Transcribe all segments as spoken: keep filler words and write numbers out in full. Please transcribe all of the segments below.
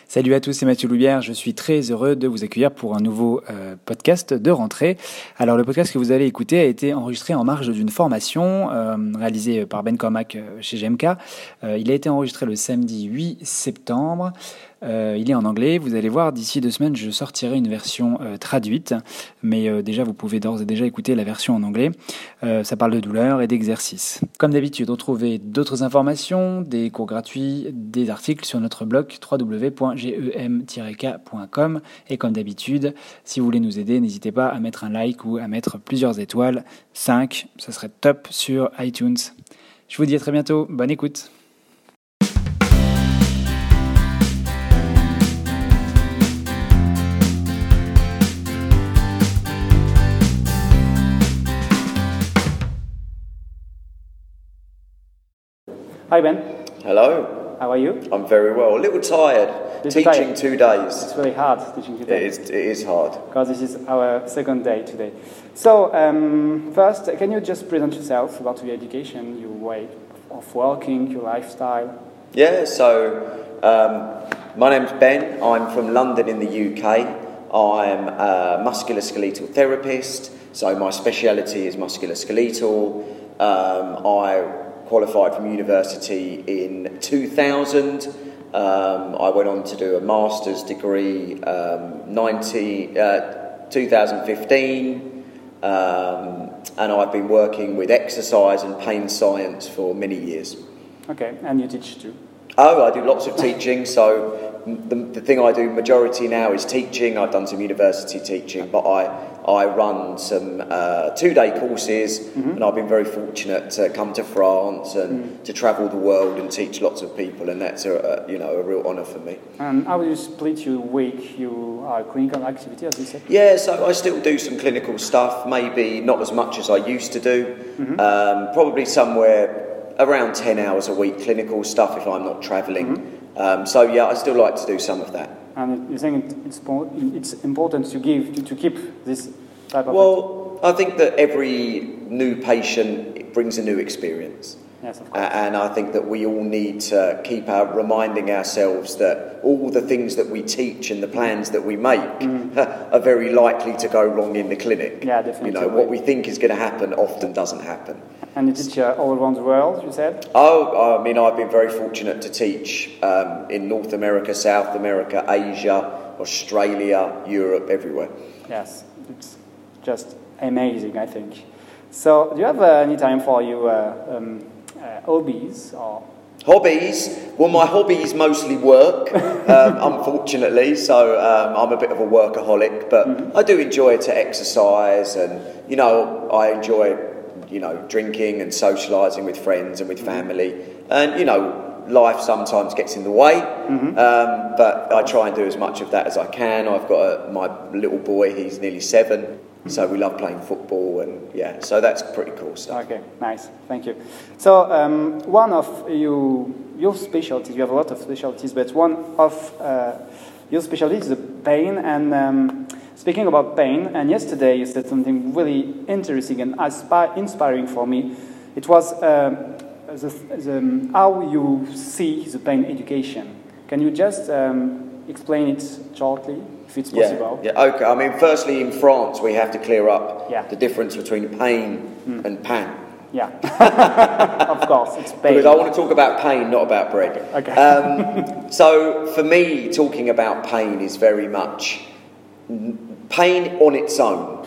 Salut à tous, c'est Mathieu Loubière. Je suis très heureux de vous accueillir pour un nouveau euh, podcast de rentrée. Alors, le podcast que vous allez écouter a été enregistré en marge d'une formation euh, réalisée par Ben Cormac euh, chez G M K. Euh, il a été enregistré le samedi huit septembre. Euh, il est en anglais. Vous allez voir, d'ici deux semaines, je sortirai une version euh, traduite. Mais euh, déjà, vous pouvez d'ores et déjà écouter la version en anglais. Euh, ça parle de douleur et d'exercice. Comme d'habitude, retrouvez d'autres informations, des cours gratuits, des articles sur notre blog w w w point gem tiret k point com. Et comme d'habitude, si vous voulez nous aider, n'hésitez pas à mettre un like ou à mettre plusieurs étoiles. cinq, ça serait top sur iTunes. Je vous dis à très bientôt. Bonne écoute. Hi Ben. Hello. How are you? I'm very well. A little tired. Little Teaching tired. two days. It's very hard teaching today. It is. It is hard. Because this is our second day today. So um, first, can you just present yourself about your education, your way of working, your lifestyle? Yeah. So um, my name's Ben. I'm from London in the U K. I'm a musculoskeletal therapist. So my speciality is musculoskeletal. Um, I qualified from university in two thousand. Um, I went on to do a master's degree um, ninety, uh, twenty fifteen, um, and I've been working with exercise and pain science for many years. Okay, and you teach too? Oh, I do lots of teaching, so the, the thing I do majority now is teaching. I've done some university teaching, but I, I run some uh, two-day courses, mm-hmm. and I've been very fortunate to come to France and mm. to travel the world and teach lots of people, and that's a, a you know a real honour for me. And how do you split your week, your uh, clinical activity, as you said? Yeah, so I still do some clinical stuff, maybe not as much as I used to do, mm-hmm. um, probably somewhere around ten hours a week clinical stuff if I'm not travelling. Mm-hmm. Um, so yeah, I still like to do some of that. And you think it's it's important to give to, to keep this type of Well, I think that every new patient brings a new experience. Yes, of course. Uh, and I think that we all need to keep our, reminding ourselves that all the things that we teach and the plans that we make mm. are very likely to go wrong in the clinic. Yeah, definitely. You know, what we think is going to happen often doesn't happen. And you teach uh, all around the world, you said? Oh, I mean, I've been very fortunate to teach um, in North America, South America, Asia, Australia, Europe, everywhere. Yes, it's just amazing, I think. So, do you have uh, any time for your uh, um, uh, hobbies or? Hobbies? Well, my hobby is mostly work, um, unfortunately, so um, I'm a bit of a workaholic, but mm-hmm. I do enjoy to exercise and, you know, I enjoy, you know, drinking and socialising with friends and with family, and, you know, life sometimes gets in the way, mm-hmm. um, but I try and do as much of that as I can. I've got a, my little boy, he's nearly seven. So we love playing football, and yeah, so that's pretty cool stuff. Okay, nice, thank you. So um, one of you, your specialties, you have a lot of specialties, but one of uh, your specialties is the pain. And um, speaking about pain, and yesterday you said something really interesting and inspiring for me. It was uh, the, the, how you see the pain education. Can you just um, explain it shortly? If it's possible. Yeah, yeah, okay. I mean, firstly, in France, we have to clear up yeah. the difference between pain mm. and pan. Yeah, of course, it's pain. Because I want to talk about pain, not about bread. Okay. Um, so, for me, talking about pain is very much... Pain on its own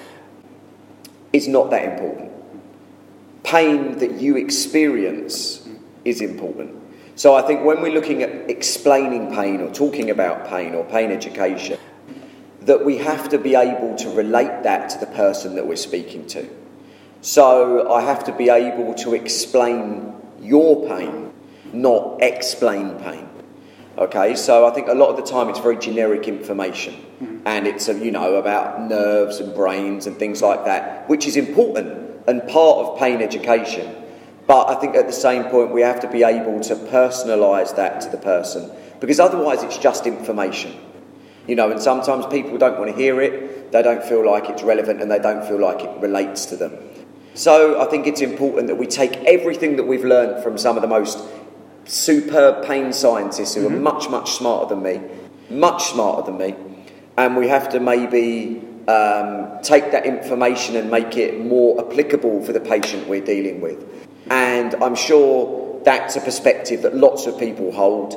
is not that important. Pain that you experience is important. So I think when we're looking at explaining pain or talking about pain or pain education, that we have to be able to relate that to the person that we're speaking to. So I have to be able to explain your pain, not explain pain. Okay, so I think a lot of the time it's very generic information, mm-hmm. and it's you know about nerves and brains and things like that, which is important and part of pain education. But I think at the same point we have to be able to personalise that to the person, because otherwise it's just information. You know, and sometimes people don't want to hear it, they don't feel like it's relevant, and they don't feel like it relates to them. So I think it's important that we take everything that we've learned from some of the most superb pain scientists who mm-hmm. are much, much smarter than me, much smarter than me, and we have to maybe um, take that information and make it more applicable for the patient we're dealing with. And I'm sure that's a perspective that lots of people hold.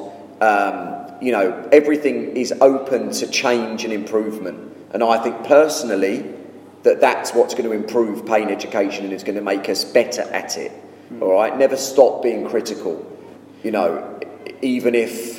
Um, you know, everything is open to change and improvement. And I think personally that that's what's going to improve pain education and is going to make us better at it. Mm. All right? Never stop being critical. You know, even if...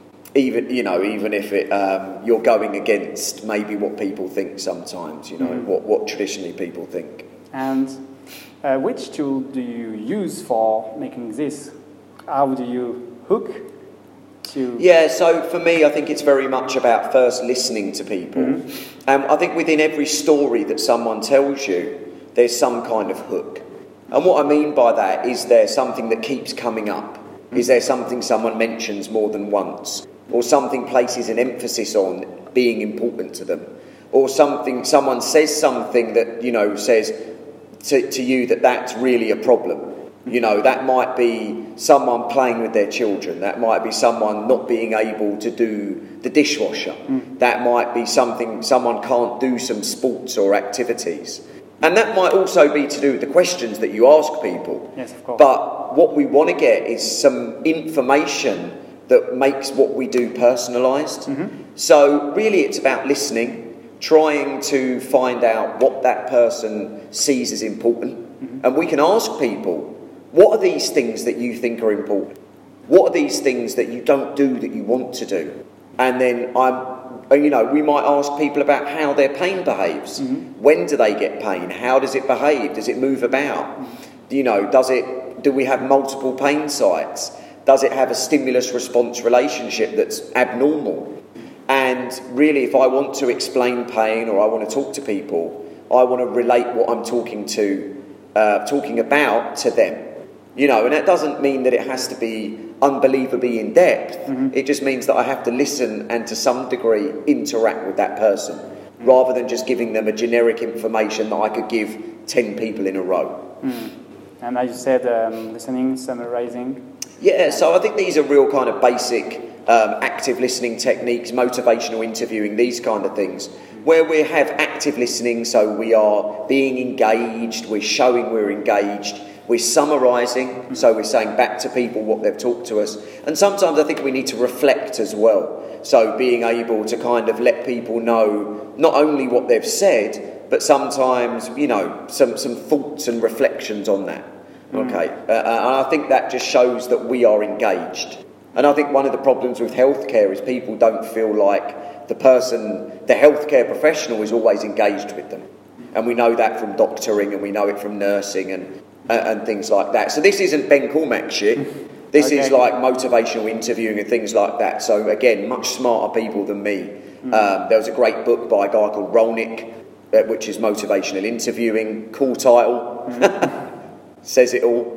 Even you know, even if it, um, you're going against maybe what people think sometimes, you know, mm. what, what traditionally people think. And uh, which tool do you use for making this? How do you hook to... Yeah, so for me, I think it's very much about first listening to people. Mm-hmm. And I think within every story that someone tells you, there's some kind of hook. And what I mean by that is there something that keeps coming up? Mm-hmm. Is there something someone mentions more than once? Or something places an emphasis on being important to them, or something someone says something that, you know, says to, to you that that's really a problem. You know, that might be someone playing with their children, that might be someone not being able to do the dishwasher, mm. that might be something someone can't do some sports or activities. And that might also be to do with the questions that you ask people. Yes, of course. But what we want to get is some information that makes what we do personalised. Mm-hmm. So really it's about listening, trying to find out what that person sees as important. Mm-hmm. And we can ask people, what are these things that you think are important? What are these things that you don't do that you want to do? And then I'm, you know, we might ask people about how their pain behaves. Mm-hmm. When do they get pain? How does it behave? Does it move about? Mm-hmm. You know, does it, do we have multiple pain sites? Does it have a stimulus-response relationship that's abnormal? And really, if I want to explain pain or I want to talk to people, I want to relate what I'm talking to, uh, talking about to them. You know, and that doesn't mean that it has to be unbelievably in depth. Mm-hmm. It just means that I have to listen and to some degree interact with that person, mm-hmm. rather than just giving them a generic information that I could give ten people in a row. Mm. And as you said, um, listening, summarizing. Yeah, so I think these are real kind of basic um, active listening techniques, motivational interviewing, these kind of things, where we have active listening, so we are being engaged, we're showing we're engaged, we're summarising, so we're saying back to people what they've talked to us. And sometimes I think we need to reflect as well, so being able to kind of let people know not only what they've said, but sometimes, you know, some, some thoughts and reflections on that. Okay, uh, and I think that just shows that we are engaged. And I think one of the problems with healthcare is people don't feel like the person, the healthcare professional is always engaged with them. And we know that from doctoring and we know it from nursing and uh, and things like that. So this isn't Ben Cormack shit. This okay. is like motivational interviewing and things like that. So again, much smarter people than me. Mm. Um, there was a great book by a guy called Rolnick, uh, which is motivational interviewing. Cool title. Mm. Says it all.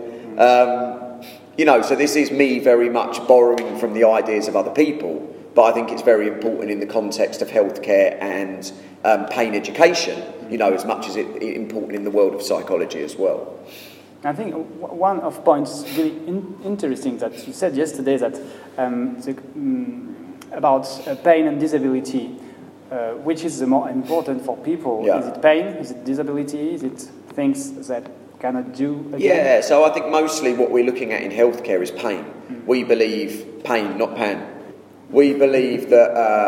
Um, you know, so this is me very much borrowing from the ideas of other people, but I think it's very important in the context of healthcare and um, pain education, you know, as much as it's it important in the world of psychology as well. I think one of points really in, interesting that you said yesterday that um, the, um, about uh, pain and disability, uh, which is the more important for people? Yeah. Is it pain? Is it disability? Is it things that cannot do again? Yeah, so I think mostly what we're looking at in healthcare is pain. Mm. We believe pain, not pan. We believe that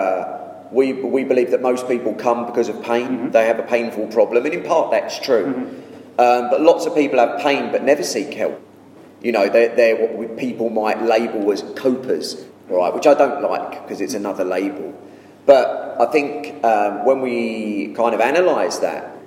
uh, we we believe that most people come because of pain. Mm-hmm. They have a painful problem, and in part that's true. Mm-hmm. Um, but lots of people have pain but never seek help. You know, they're, they're what we, people might label as copers, right? Which I don't like because it's another label. But I think um, when we kind of analyse that.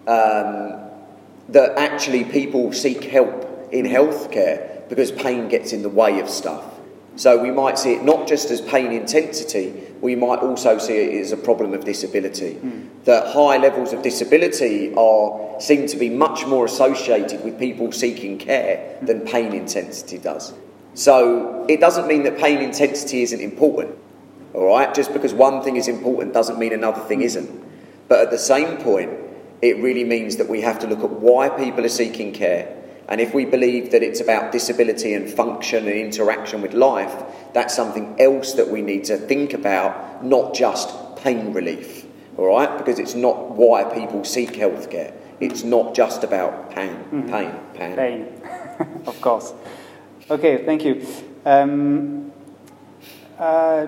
Um, that actually people seek help in healthcare because pain gets in the way of stuff. So we might see it not just as pain intensity, we might also see it as a problem of disability. Mm. That high levels of disability are seem to be much more associated with people seeking care than pain intensity does. So it doesn't mean that pain intensity isn't important, all right? Just because one thing is important doesn't mean another thing isn't. But at the same point, it really means that we have to look at why people are seeking care And if we believe that it's about disability and function and interaction with life, that's something else that we need to think about, not just pain relief, all right? Because it's not why people seek healthcare. It's not just about pain, mm-hmm. pain, pain. Pain, of course. Okay, thank you. Um, uh,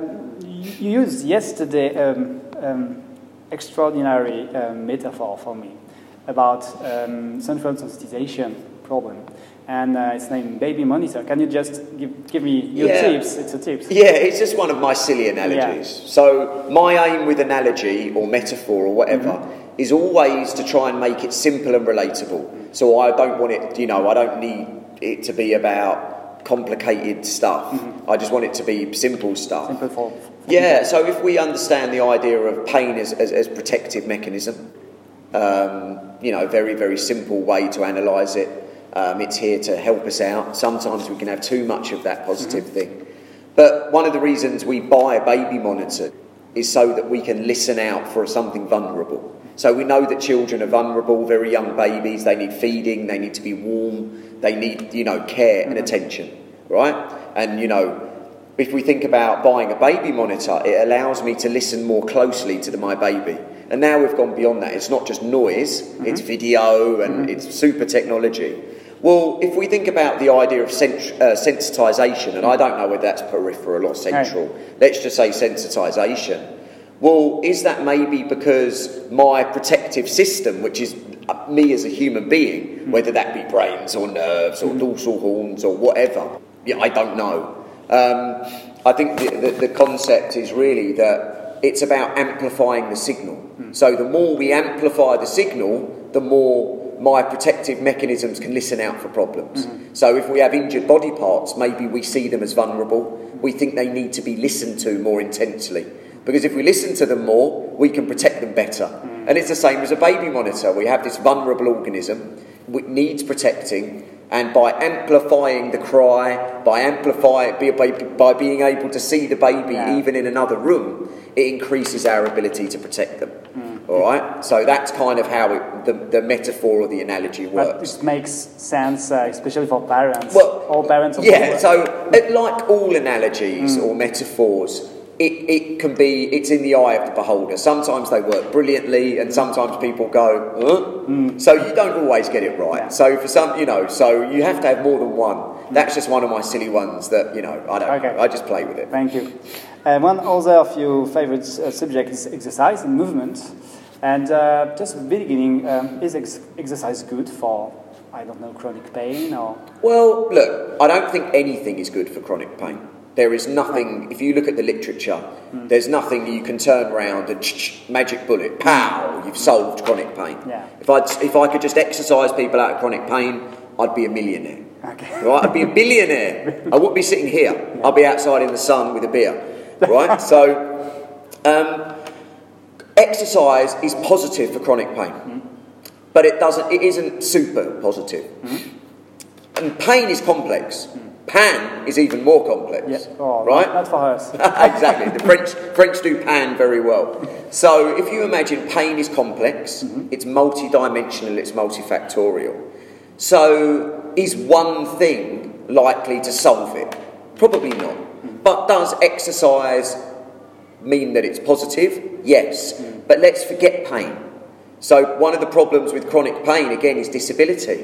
you used yesterday um, um, extraordinary uh, metaphor for me about um, central sensitization problem, and uh, it's named baby monitor. Can you just give, give me your yeah. tips? It's a tips. Yeah, it's just one of my silly analogies. Yeah. So my aim with analogy or metaphor or whatever mm-hmm. is always to try and make it simple and relatable. So I don't want it, you know, I don't need it to be about complicated stuff. Mm-hmm. I just want it to be simple stuff. Simple for, for yeah, so if we understand the idea of pain as, as, as protective mechanism, um, you know, very, very simple way to analyse it. Um, it's here to help us out. Sometimes we can have too much of that positive mm-hmm. thing. But one of the reasons we buy a baby monitor is so that we can listen out for something vulnerable. So we know that children are vulnerable, very young babies, they need feeding, they need to be warm, they need, you know, care and attention, right? And, you know, if we think about buying a baby monitor, it allows me to listen more closely to the, my baby. And now we've gone beyond that. It's not just noise, mm-hmm. it's video and mm-hmm. it's super technology. Well, if we think about the idea of sens- uh, sensitisation, and I don't know whether that's peripheral or central, right. Let's just say sensitisation. Well, is that maybe because my protective system, which is me as a human being, mm-hmm. whether that be brains or nerves or mm-hmm. dorsal horns or whatever, yeah, I don't know. Um, I think the, the, the concept is really that it's about amplifying the signal. Mm-hmm. So the more we amplify the signal, the more my protective mechanisms can listen out for problems. Mm-hmm. So if we have injured body parts, maybe we see them as vulnerable. We think they need to be listened to more intensely. Because if we listen to them more, we can protect them better. Mm. And it's the same as a baby monitor. We have this vulnerable organism which needs protecting, and by amplifying the cry, by amplifying, by, by being able to see the baby yeah. even in another room, it increases our ability to protect them. Mm. All right? So that's kind of how it, the, the metaphor or the analogy works. But it makes sense, uh, especially for parents. Well, all parents. Yeah, so like all analogies mm. or metaphors, It, it can be, it's in the eye of the beholder. Sometimes they work brilliantly and sometimes people go, huh? mm. So you don't always get it right. Yeah. So for some, you know, so you have to have more than one. Mm. That's just one of my silly ones that, you know, I don't okay. know. I just play with it. Thank you. Uh, one other of your favourite uh, subjects is exercise and movement. And uh, just at the beginning, um, is ex- exercise good for, I don't know, chronic pain or? Well, look, I don't think anything is good for chronic pain. There is nothing, if you look at the literature, mm. there's nothing you can turn around and magic bullet, pow, you've solved chronic pain. Yeah. If I if I could just exercise people out of chronic pain, I'd be a millionaire. Okay. Right? I'd be a billionaire. I wouldn't be sitting here. Yeah. I'd be outside in the sun with a beer. Right? So, um, exercise is positive for chronic pain. Mm. But it doesn't, it isn't super positive. Mm. And pain is complex. Mm. Pan is even more complex, yeah. oh, right? Not for us. Exactly. The French French do pan very well. So if you imagine pain is complex, mm-hmm. it's multi-dimensional, it's multifactorial. So is one thing likely to solve it? Probably not. Mm-hmm. But does exercise mean that it's positive? Yes. Mm-hmm. But let's forget pain. So one of the problems with chronic pain, again, is disability.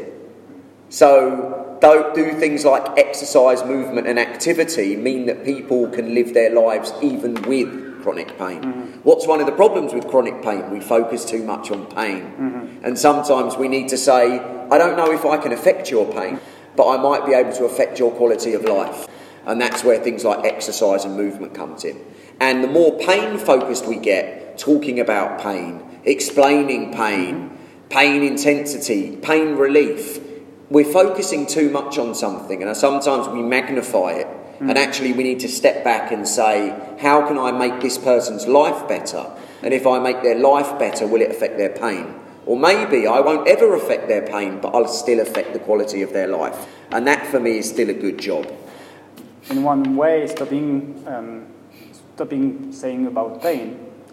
So don't do things like exercise, movement and activity mean that people can live their lives even with chronic pain. Mm-hmm. What's one of the problems with chronic pain? We focus too much on pain. Mm-hmm. And sometimes we need to say, I don't know if I can affect your pain, but I might be able to affect your quality of life. And that's where things like exercise and movement comes in. And the more pain focused we get, talking about pain, explaining pain, mm-hmm. pain intensity, pain relief, we're focusing too much on something, and sometimes we magnify it. Mm. And actually we need to step back and say, how can I make this person's life better? And if I make their life better, will it affect their pain? Or maybe I won't ever affect their pain, but I'll still affect the quality of their life. And that for me is still a good job. In one way, stopping, um, stopping saying about pain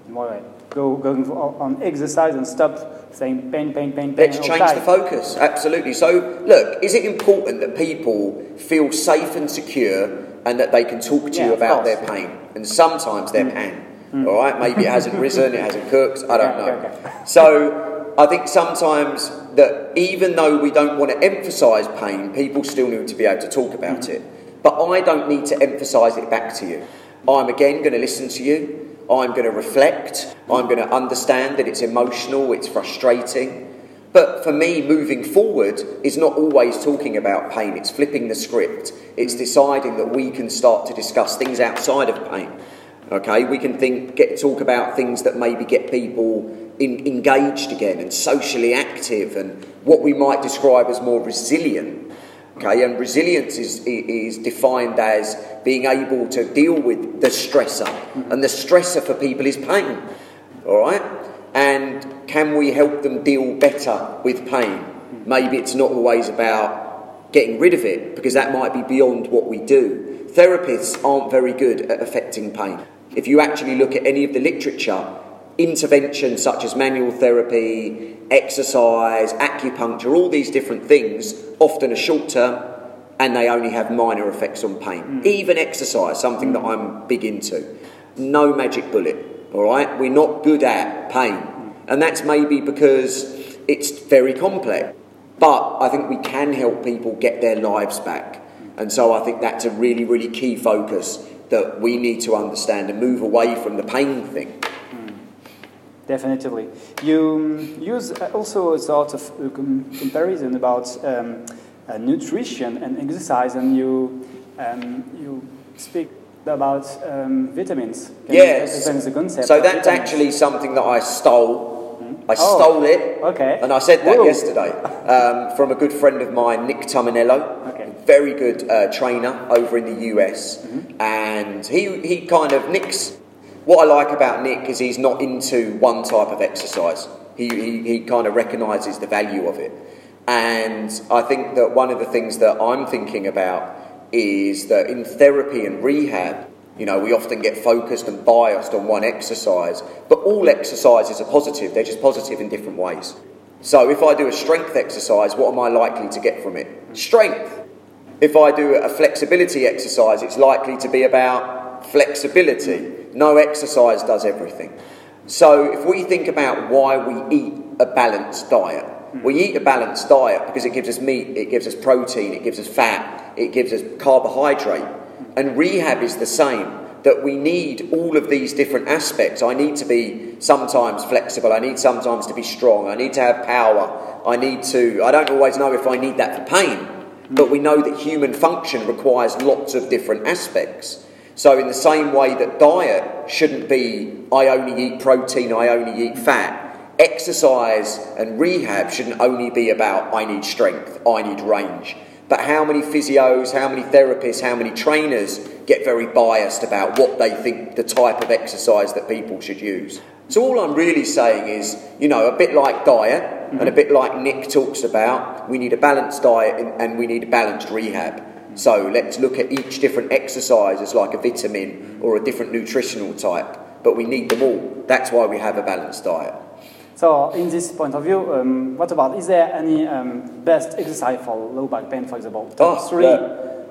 in one way. Go, go on exercise and stop saying pain, pain, pain, pain. Let's change the focus, absolutely. So, look, is it important that people feel safe and secure and that they can talk to yeah, you about course. their pain? And sometimes their mm. pain, mm. all right? Maybe it hasn't risen, it hasn't cooked, I don't yeah, know. Okay, okay. So, I think sometimes that even though we don't want to emphasise pain, people still need to be able to talk about mm. it. But I don't need to emphasise it back to you. I'm again going to listen to you. I'm going to reflect, I'm going to understand that it's emotional, it's frustrating. But for me, moving forward is not always talking about pain, it's flipping the script. It's deciding that we can start to discuss things outside of pain. Okay, we can think, get talk about things that maybe get people in, engaged again and socially active and what we might describe as more resilient. Okay, and resilience is, is defined as being able to deal with the stressor. Mm-hmm. And the stressor for people is pain. All right? And can we help them deal better with pain? Mm-hmm. Maybe it's not always about getting rid of it, because that might be beyond what we do. Therapists aren't very good at affecting pain. If you actually look at any of the literature, interventions such as manual therapy, exercise, acupuncture, all these different things often are short term and they only have minor effects on pain. Mm. Even exercise, something mm. that I'm big into. No magic bullet, all right? We're not good at pain. Mm. And that's maybe because it's very complex. But I think we can help people get their lives back. Mm. And so I think that's a really, really key focus that we need to understand and move away from the pain thing. Definitely. You um, use also a sort of uh, com- comparison about um, uh, nutrition and exercise, and you um, you speak about um, vitamins. Can yes. You the concept so that's vitamins? Actually something that I stole. Mm-hmm. I oh, stole it. Okay. And I said that Whoa. yesterday um, from a good friend of mine, Nick Tominello. Okay. Very good uh, trainer over in the U S. Mm-hmm. And he he kind of Nick's. What I like about Nick is he's not into one type of exercise. He, he, he kind of recognises the value of it. And I think that one of the things that I'm thinking about is that in therapy and rehab, you know, we often get focused and biased on one exercise, but all exercises are positive. They're just positive in different ways. So if I do a strength exercise, what am I likely to get from it? Strength. If I do a flexibility exercise, it's likely to be about flexibility. No exercise does everything. So if we think about why we eat a balanced diet, mm. we eat a balanced diet because it gives us meat, it gives us protein, it gives us fat, it gives us carbohydrate. And rehab is the same, that we need all of these different aspects. I need to be sometimes flexible, I need sometimes to be strong, I need to have power, I need to, I don't always know if I need that for pain, mm. but we know that human function requires lots of different aspects. So in the same way that diet shouldn't be, I only eat protein, I only eat fat, exercise and rehab shouldn't only be about, I need strength, I need range. But how many physios, how many therapists, how many trainers get very biased about what they think the type of exercise that people should use? So all I'm really saying is, you know, a bit like diet, mm-hmm. and a bit like Nick talks about, we need a balanced diet and, and we need a balanced rehab. So let's look at each different exercise as like a vitamin or a different nutritional type. But we need them all. That's why we have a balanced diet. So in this point of view, um, what about, is there any um, best exercise for low back pain, for example? Top oh, three? Yeah.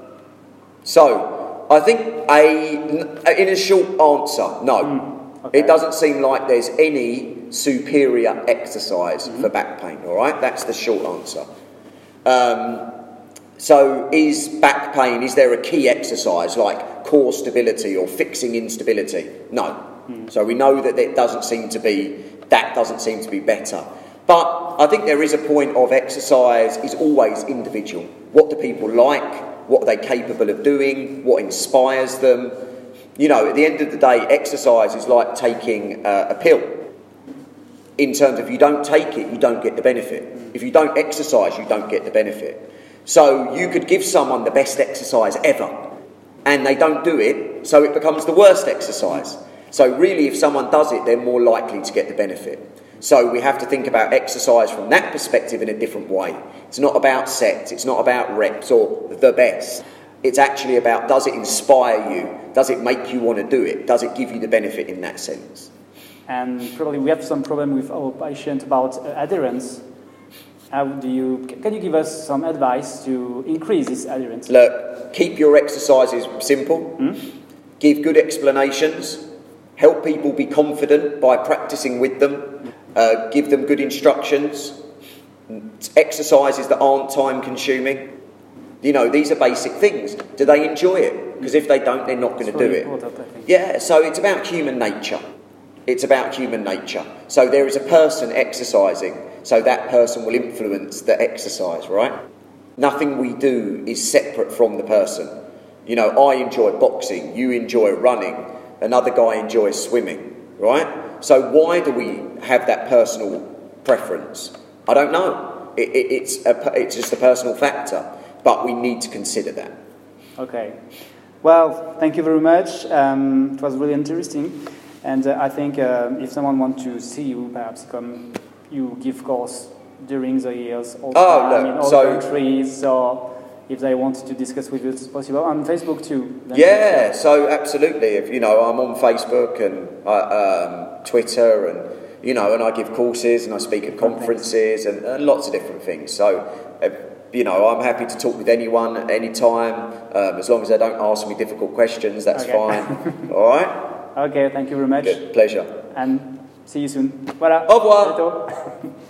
So I think a, in a short answer, no. Mm, okay. It doesn't seem like there's any superior exercise mm-hmm. for back pain, all right? That's the short answer. Um... So is back pain, is there a key exercise like core stability or fixing instability? No. Mm. So we know that it doesn't seem to be, that doesn't seem to be better. But I think there is a point of exercise is always individual. What do people like? What are they capable of doing? What inspires them? You know, at the end of the day, exercise is like taking uh, a pill. In terms of if you don't take it, you don't get the benefit. If you don't exercise, you don't get the benefit. So you could give someone the best exercise ever and they don't do it, so it becomes the worst exercise. So really if someone does it, they're more likely to get the benefit. So we have to think about exercise from that perspective in a different way. It's not about sets, it's not about reps or the best. It's actually about, does it inspire you? Does it make you want to do it? Does it give you the benefit in that sense? and probably we have some problem with our patient about uh, adherence. How do you, can you give us some advice to increase this adherence? Look, keep your exercises simple, hmm? Give good explanations, help people be confident by practicing with them, uh, give them good instructions, exercises that aren't time consuming. You know, these are basic things. Do they enjoy it? Because if they don't, they're not going to do it. Yeah, so it's about human nature. It's about human nature. So there is a person exercising, so that person will influence the exercise, right? Nothing we do is separate from the person. You know, I enjoy boxing, you enjoy running, another guy enjoys swimming, right? So why do we have that personal preference? I don't know. It, it, it's, a, it's just a personal factor. But we need to consider that. Okay. Well, thank you very much. Um, it was really interesting. And uh, I think uh, if someone wants to see you, perhaps come, you give course during the years all oh, time look, in all so, countries. So if they want to discuss with you, it's possible. On Facebook too. Yeah, so absolutely. If you know, I'm on Facebook and uh, um, Twitter, and you know, and I give courses and I speak at conferences and, and lots of different things. So. Uh, You know, I'm happy to talk with anyone at any time, um, as long as they don't ask me difficult questions, that's okay. Fine. All right? Okay, thank you very much. Good. Pleasure. And see you soon. Voilà. Au revoir.